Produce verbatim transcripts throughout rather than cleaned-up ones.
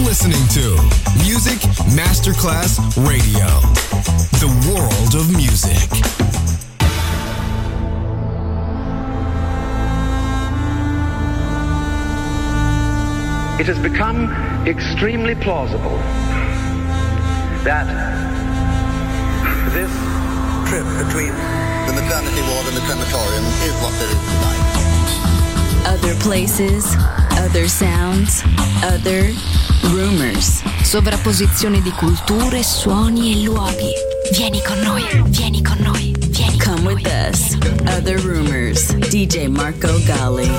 listening to Music Masterclass Radio, the world of music. It has become extremely plausible that this trip between the maternity ward and the crematorium is what there is tonight. Other places, other sounds, other rumors. Sovrapposizione di culture, suoni e luoghi. Vieni con noi, vieni con noi, vieni con Come with noi. Us. Other Rumors. D J Marco Gally.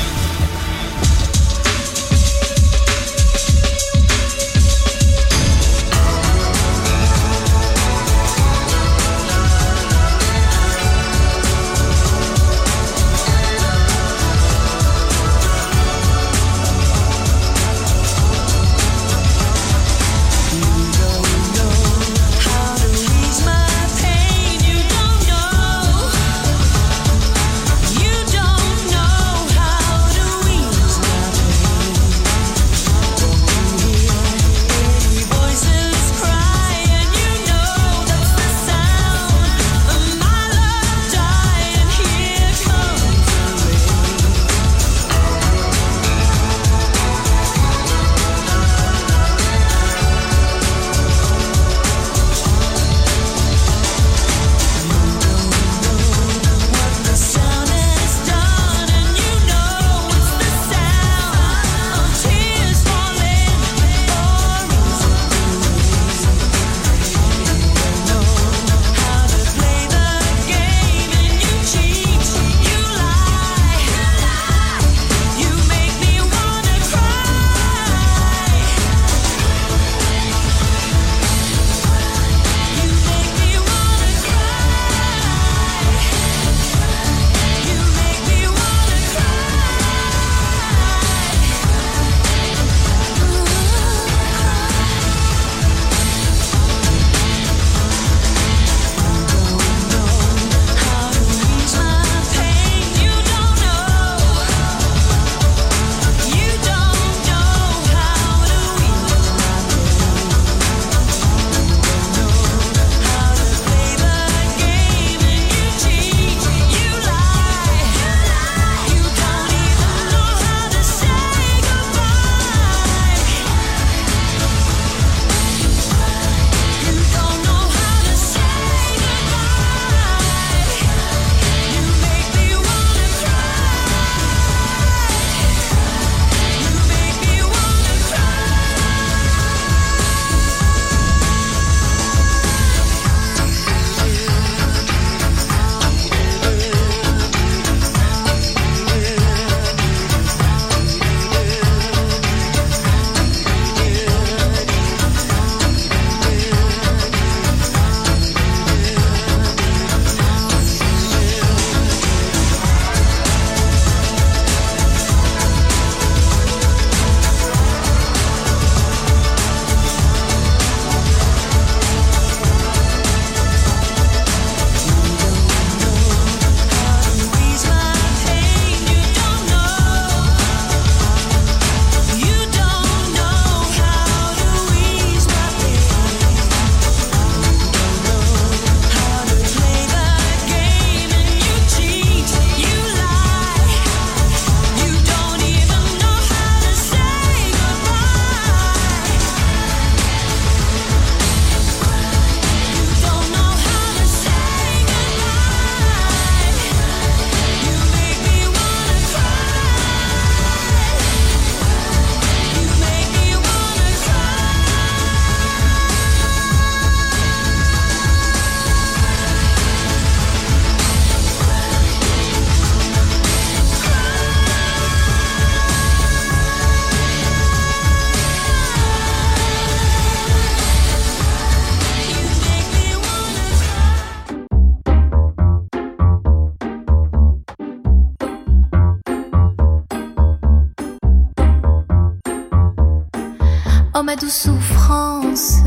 Oh ma douce souffrance,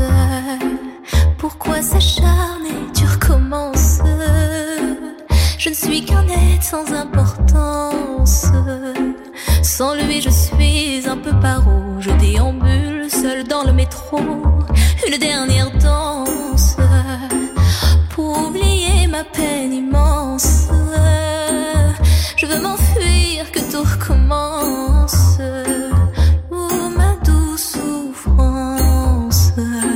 pourquoi s'acharner, tu recommences. Je ne suis qu'un être sans importance. Sans lui je suis un peu paro, je déambule seule dans le métro, une dernière danse pour oublier ma peine immense. Je veux m'enfuir, que tout recommence. Oh, ma douce souffrance.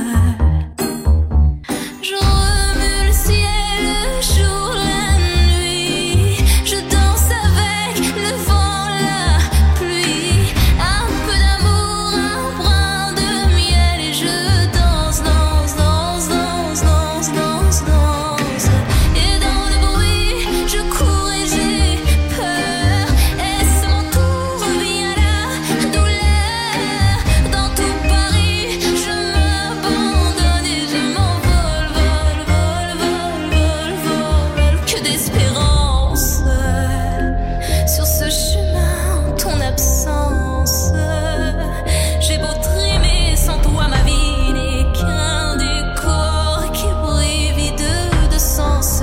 Je remue le ciel, le jour, la nuit. Je danse avec le vent, la pluie. Un peu d'amour, un brin de miel. Et je danse, danse, danse, danse, danse, danse, danse. Et dans le bruit, je cours et j'ai peur. Est-ce mon tour, revient la douleur. Dans tout Paris, je m'abandonne et je m'envole, vol, vol, vol, vol, vol. Que d'espérance sur ce chemin en ton absence. J'ai beau trimer, sans toi ma vie n'est qu'un décor qui brille vide de sens.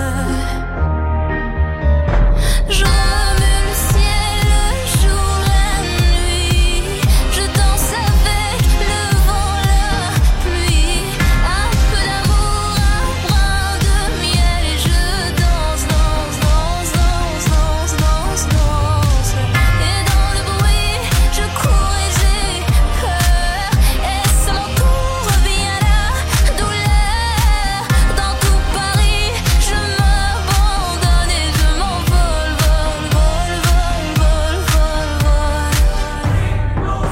Je remue le ciel, le jour, la nuit. Je danse avec le vent, la pluie. Un peu d'amour, un brin de miel. Et je danse, danse, danse, danse, danse, danse, danse. Et dans le bruit, je cours et j'ai peur. Est-ce mon tour, revient la douleur. Dans tout Paris, je m'abandonne et je m'envole, vol, vol, vol, vol, vol, vol.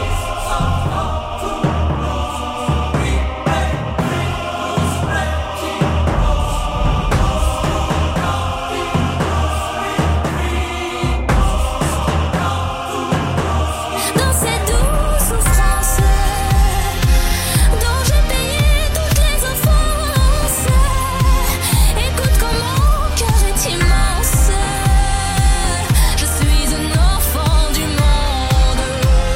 Dans cette douce souffrance dont j'ai payé toutes les offenses. Écoute comme mon cœur est immense. Je suis un enfant du monde.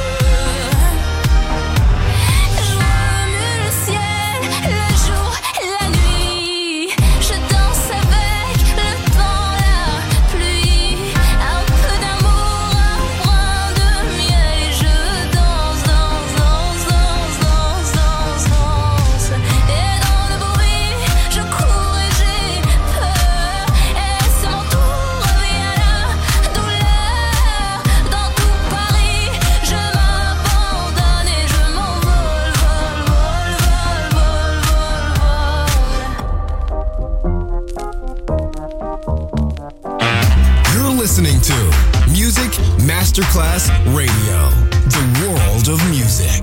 Je remue le ciel, le jour, la nuit. Je danse avec le vent, la pluie. Un peu d'amour, un brin de miel. Et je danse, danse, danse, danse, danse, danse, danse. Et dans le bruit, je cours et j'ai peur. Est-ce mon tour, revient la douleur. Dans tout Paris, je m'abandonne et je m'envole, vol, vol, vol, vol, vol. You're listening to Music Masterclass Radio, the world of music.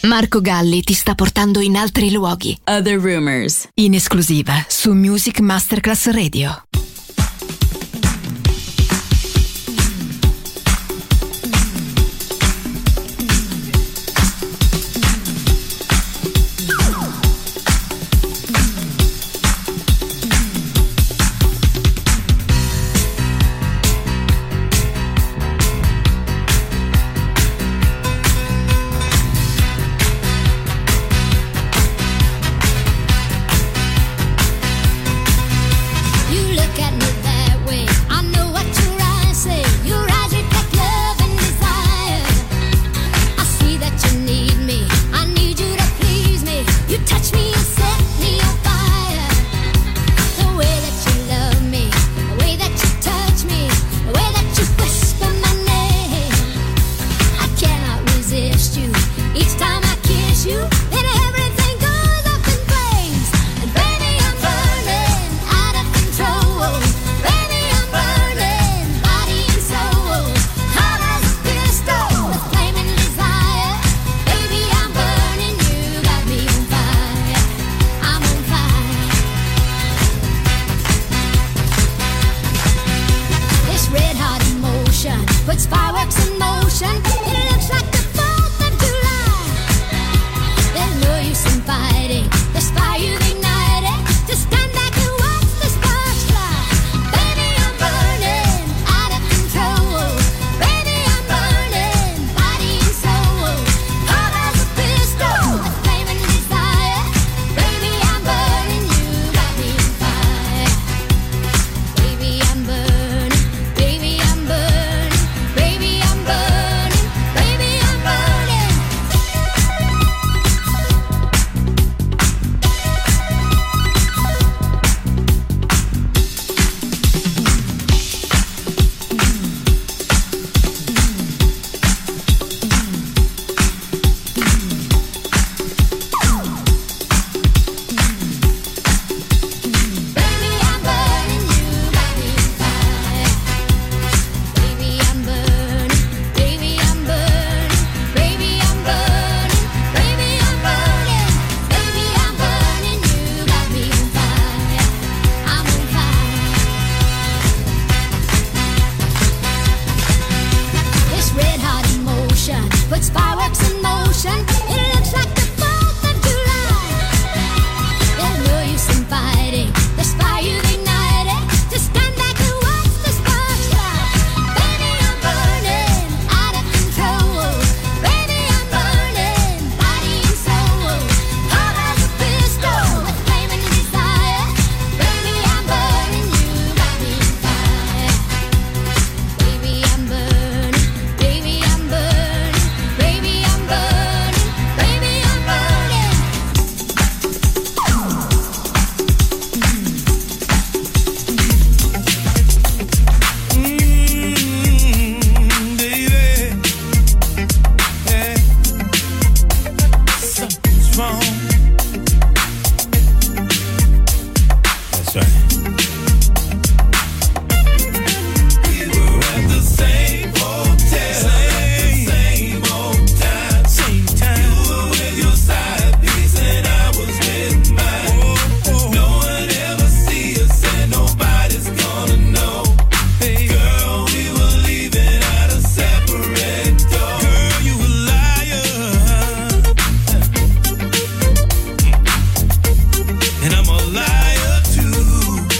Marco Galli ti sta portando in altri luoghi. Other Rumors. In esclusiva su Music Masterclass Radio. And I'm a liar too.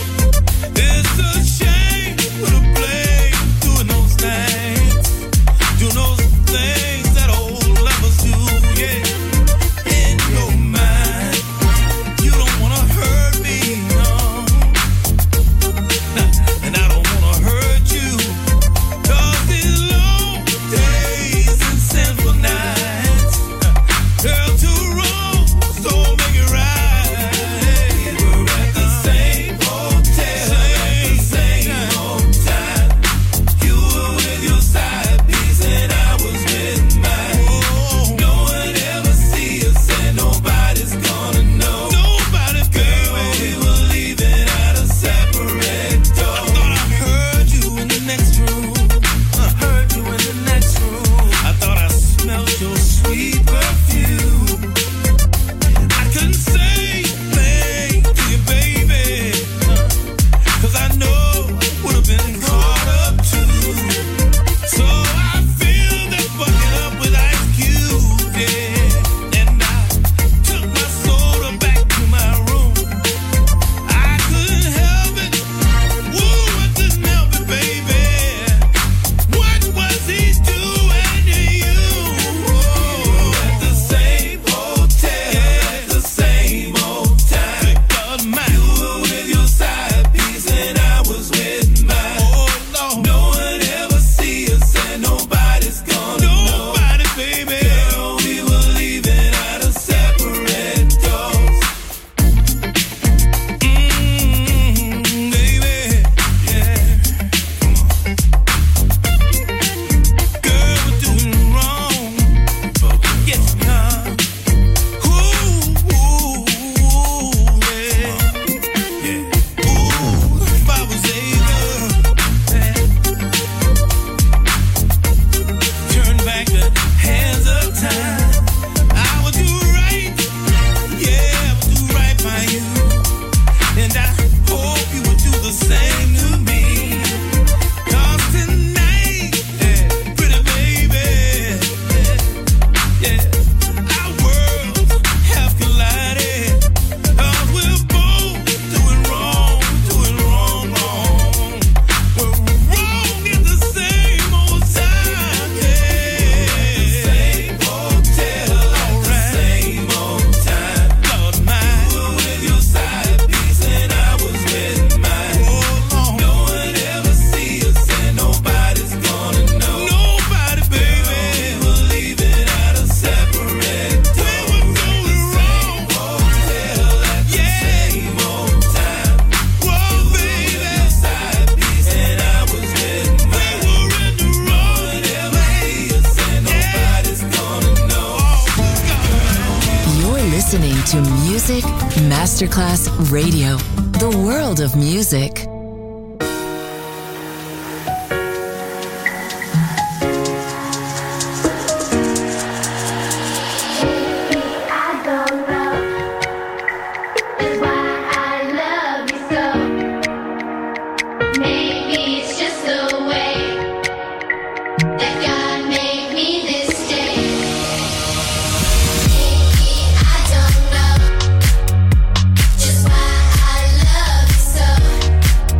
listening to Music Masterclass Radio, the world of music. Just why I love you so.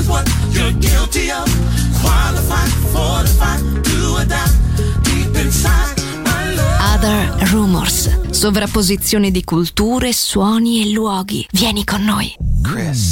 what you're guilty of. Qualified, fortified, do or die. Deep inside my love. Other Rumors. Sovrapposizione di culture, suoni e luoghi. Vieni con noi. Chris.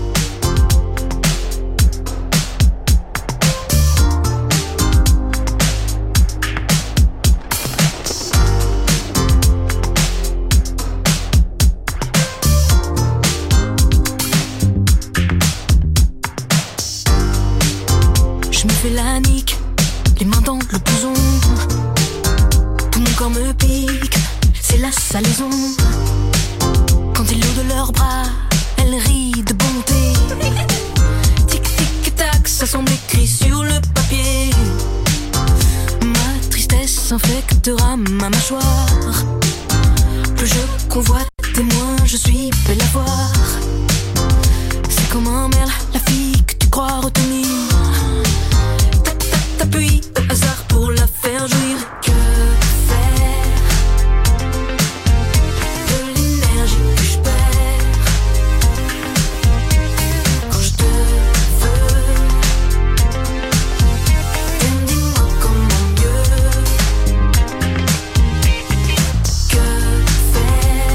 Je me fais la nique, les mains dans le blouson. Tout mon corps me pique, c'est la salaison. Quand ils l'ont de leurs bras, elle rit de bonté. Tic tic tac, ça semble écrit sur le papier. Ma tristesse infectera ma mâchoire. Plus je convoite et moins je suis belle à voir. C'est comme un merle, la fille que tu crois retenir. T'appuies au hasard pour la faire jouir. Que faire de l'énergie que je perds quand je te veux? Dis-moi comment mieux. Que faire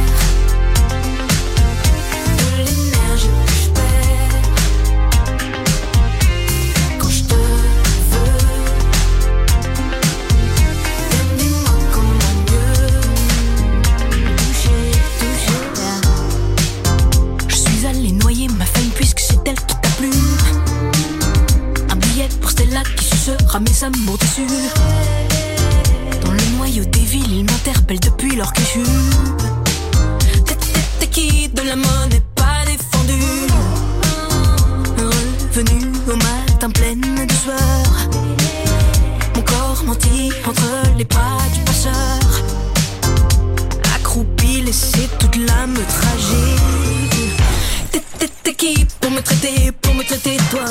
de l'énergie que je perds quand je te veux? Mes amours déçus. Dans le noyau des villes, ils m'interpellent depuis leur cul. T'es qui de la monnaie pas défendue. Revenu au matin pleine de sueur. Mon corps menti entre les bras du passeur. Accroupi, laissé toute l'âme tragique. T'es qui pour me traiter, pour me traiter toi?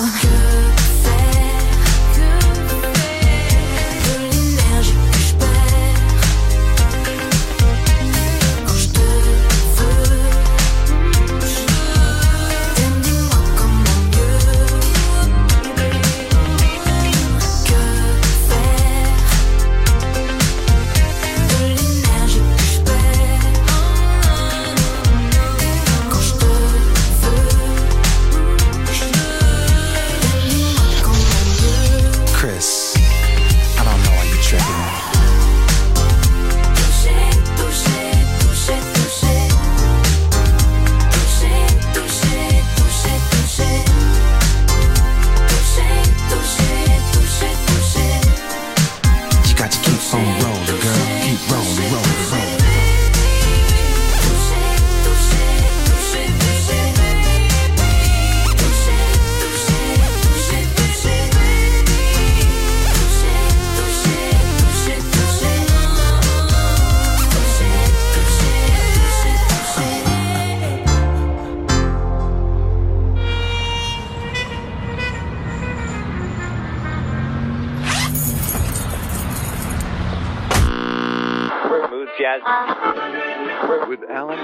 With Alan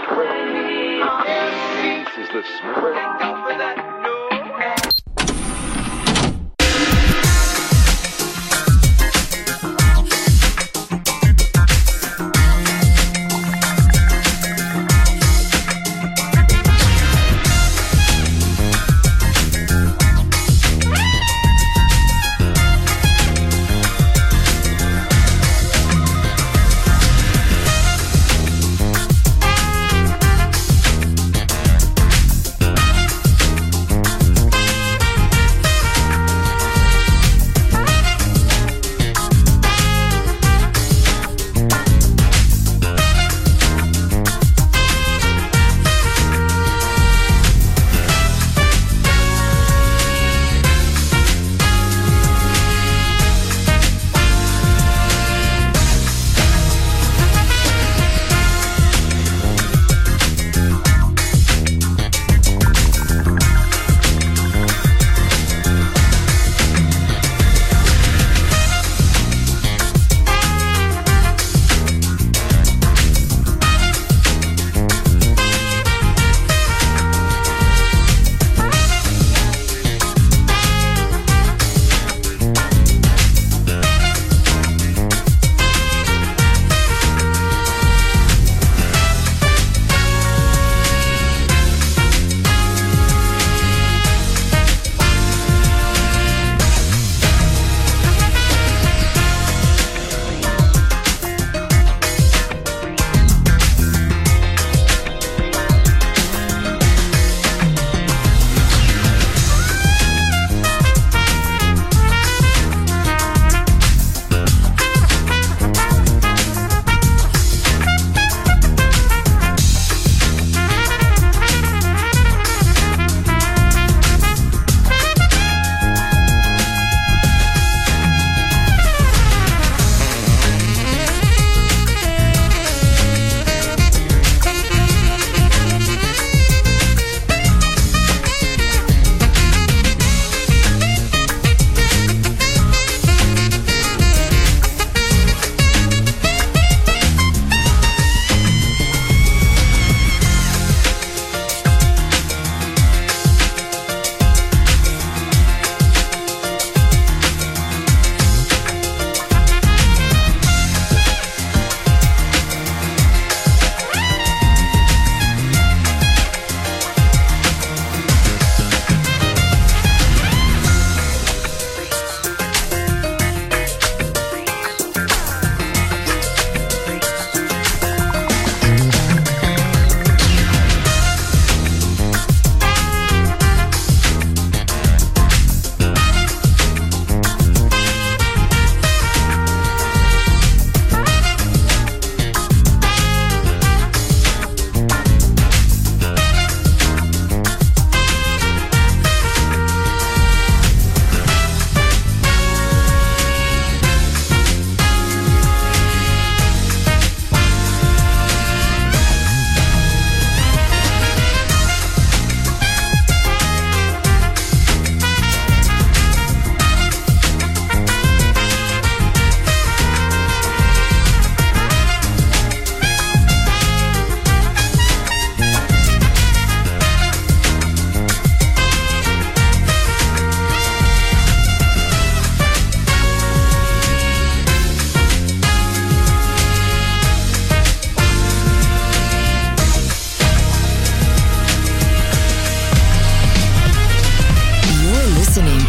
This is the Smith.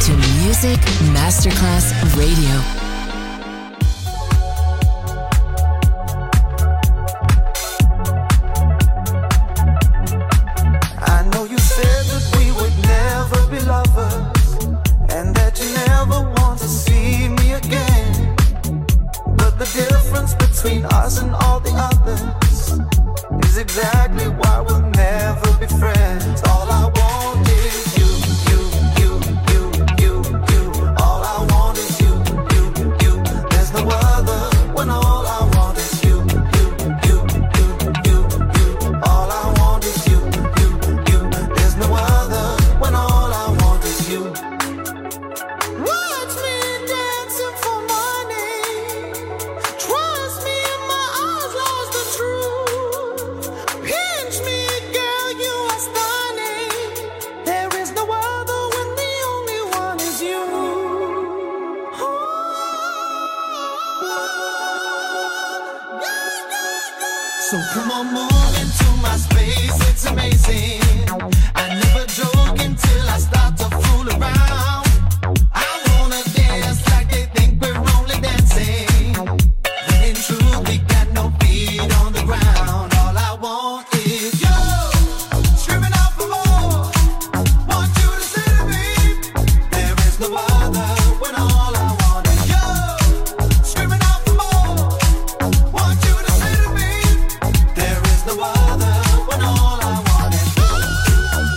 to Music Masterclass Radio. I know you said that we would never be lovers and that you never want to see me again. But the difference between us and all the others is exactly why we'll never be friends. All I want is you, you, you, you, you, you. All I want is you, you, you. There's no other when all I want is you, you, you, you, you, you. All I want is you, you, you. There's no other when all I want is you. Watch me dancing for money. Trust me, my eyes lost the truth. Pinch me, girl, you are stunning. There is no other when the only one is you. So come on, move into my space, it's amazing. I never joke until I start to fool around. I wanna dance like they think we're only dancing, when in truth we got no feet on the ground. All I want is you, screaming out for more. Want you to say to me, there is no other when all I want is you, screaming out for more. Want you to say to me, there is no other when all I want is you.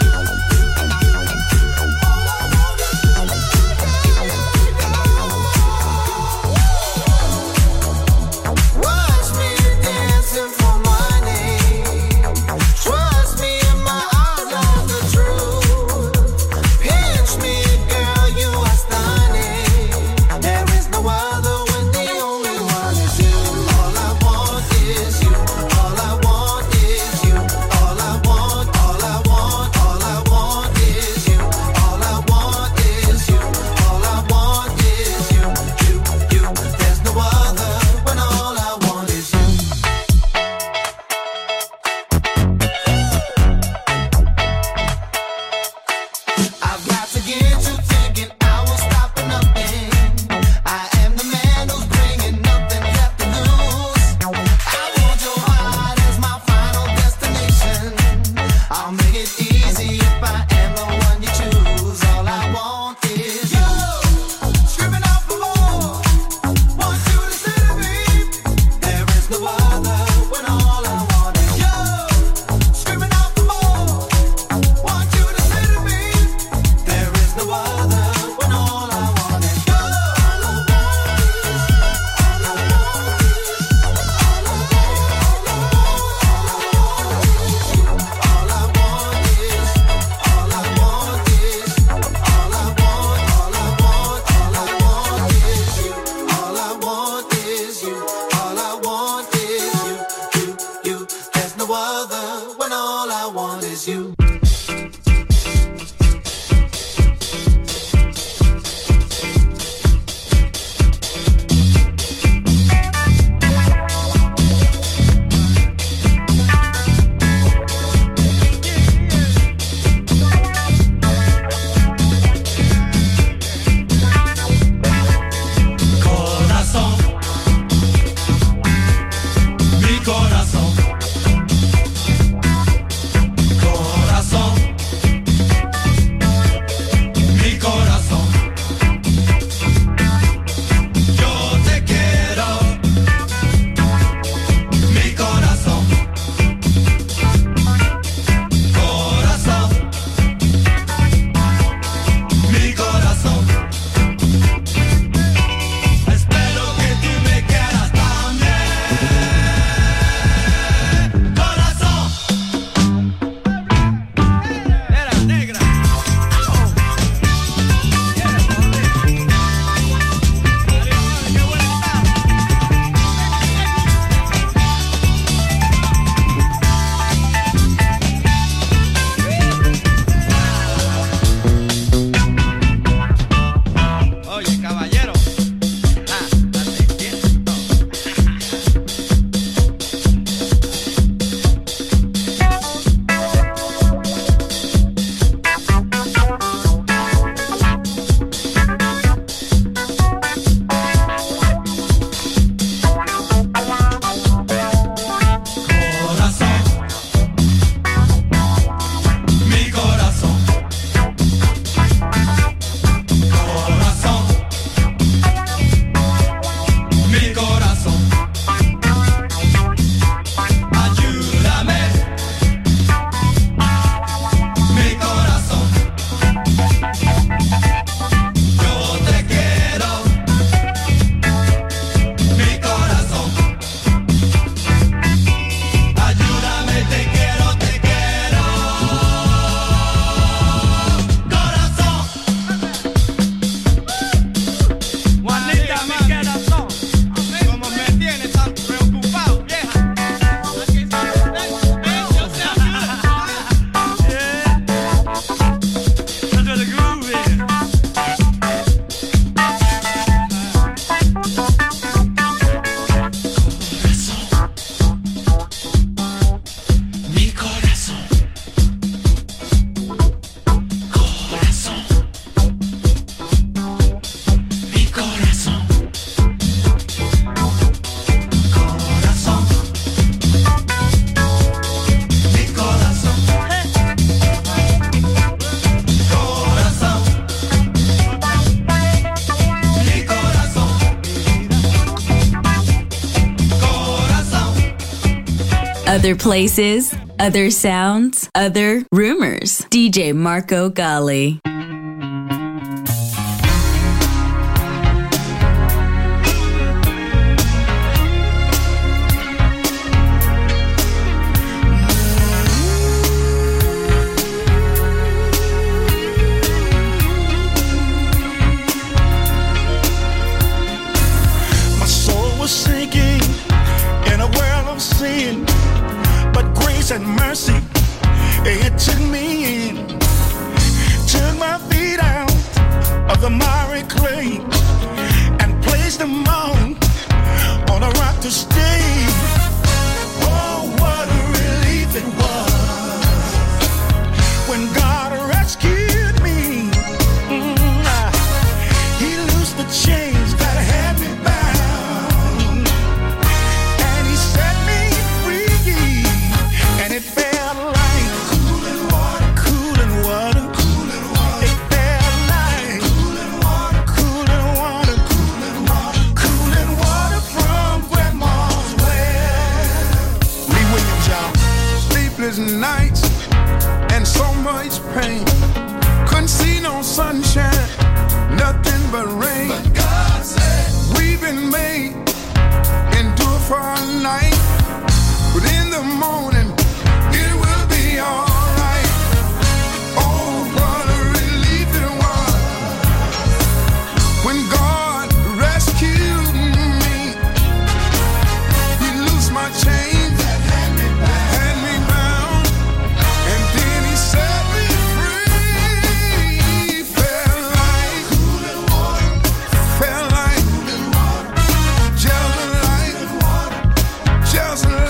Other places, other sounds, other rumors. D J Marco Gally. And mercy, it took me in, took my feet out of the miry clay and placed them on, on a rock to stay. Oh, what a relief it was when God rescued me. Mm, he loosed the chains that had me bound, and he set me free. And it felt like cooling water, cooling water, cooling water. It felt like cooling water, cooling water, cooling water, cooling water from Grandma's well. Lee Williams, y'all. Sleepless nights and so much pain. Couldn't see no sunshine, nothing but rain. But God said we've been made, endure for a night, but in the morning it will be alright. Oh, what a relief it was when God rescued me. He loosed my chains, had me bound, and then he set me free. Felt like cooling water, felt like just like, just like.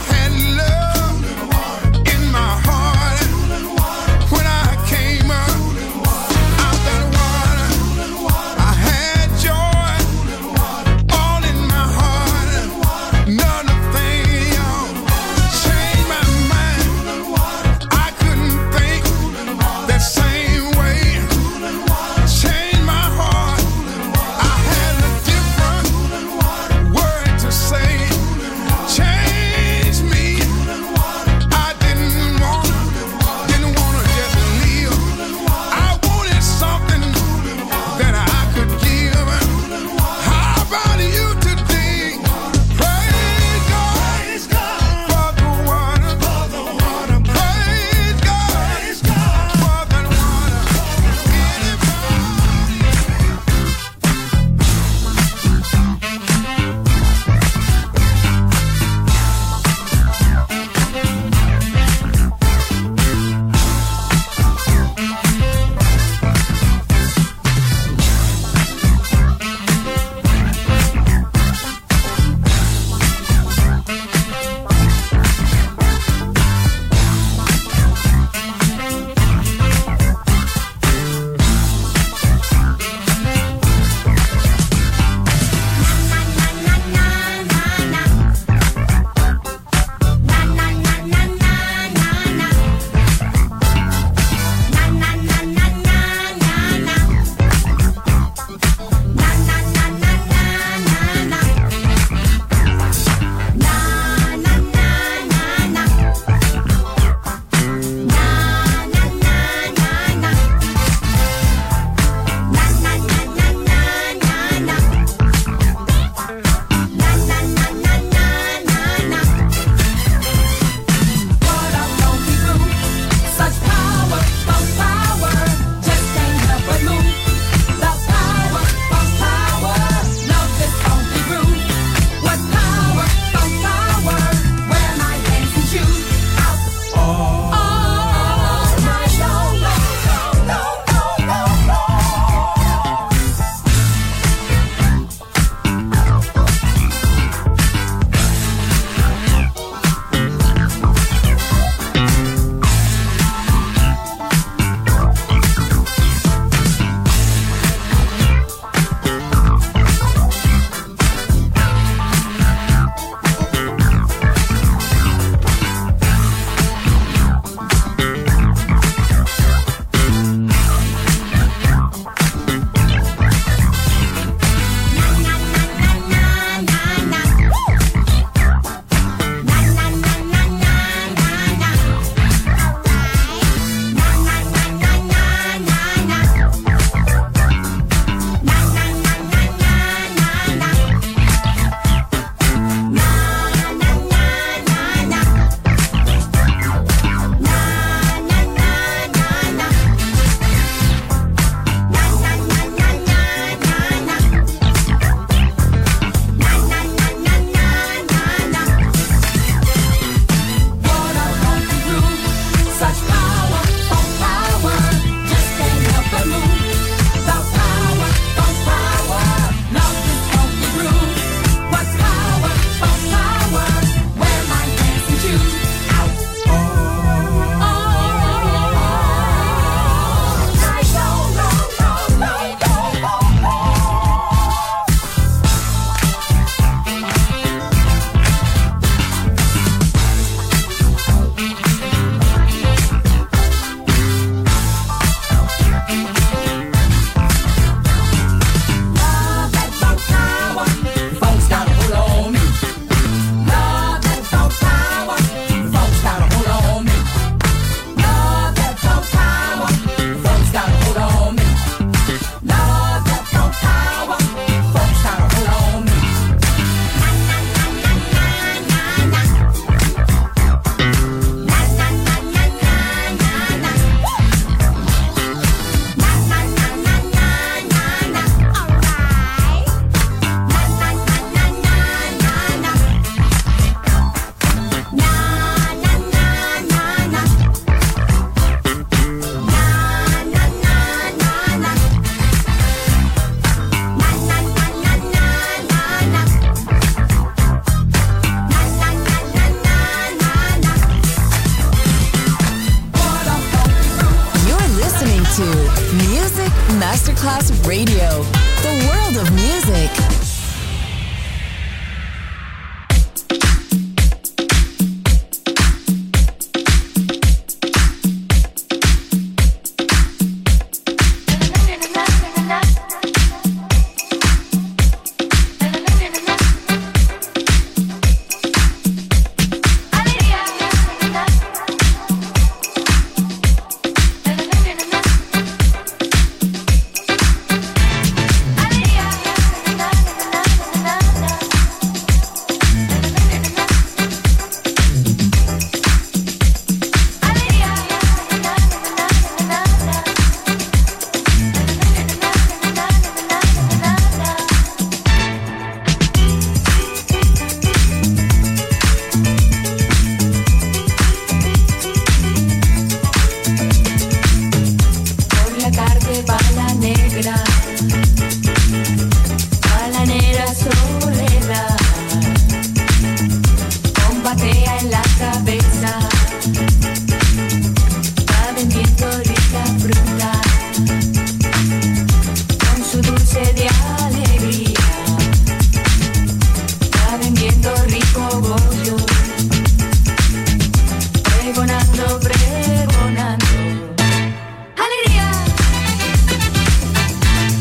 When I came up Music Masterclass Radio. The world of music. Pregonando, pregonando. Alegría.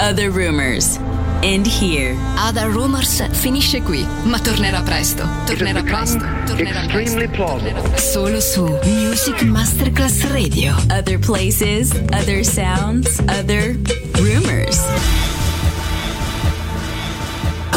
Other Rumors. End here. Other Rumors finisce qui, ma tornerà presto. Tornerà presto. Tornerà presto. Tornerà solo su Music Masterclass Radio. Other places, other sounds, other rumors.